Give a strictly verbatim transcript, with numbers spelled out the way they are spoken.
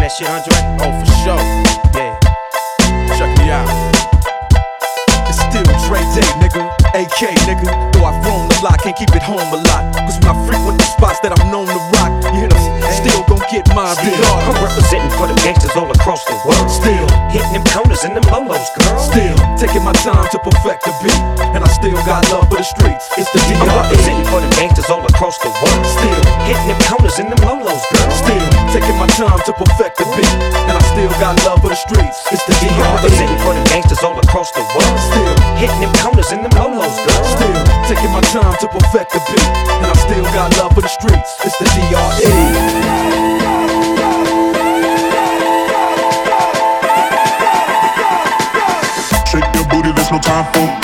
that shit, Andre? Oh, for sure. Yeah. Check me out. It's still Dre Day, nigga. A K, nigga. Though I've grown a lot, can't keep it home a lot. Cause when I frequent the spots that I'm known to rock, you hear them? Still gon' get mine I'm regardless. representing for the gangsters all across the world. Still hitting them corners and them lolos, girl. Still taking my time to perfect the beat, and I still got love for the streets. It's the D I'm R E. representing for the gangsters all across the world. Still hitting them corners and them lolos, girl. Still taking my time to perfect the beat, and I still got love for the streets. It's the D I'm R E. representing for the gangsters all across the world. Still hitting them corners and them lolos, girl. Still taking my time to perfect the beat, and I still got love for the streets. It's the D R E. Shake your booty, there's no time for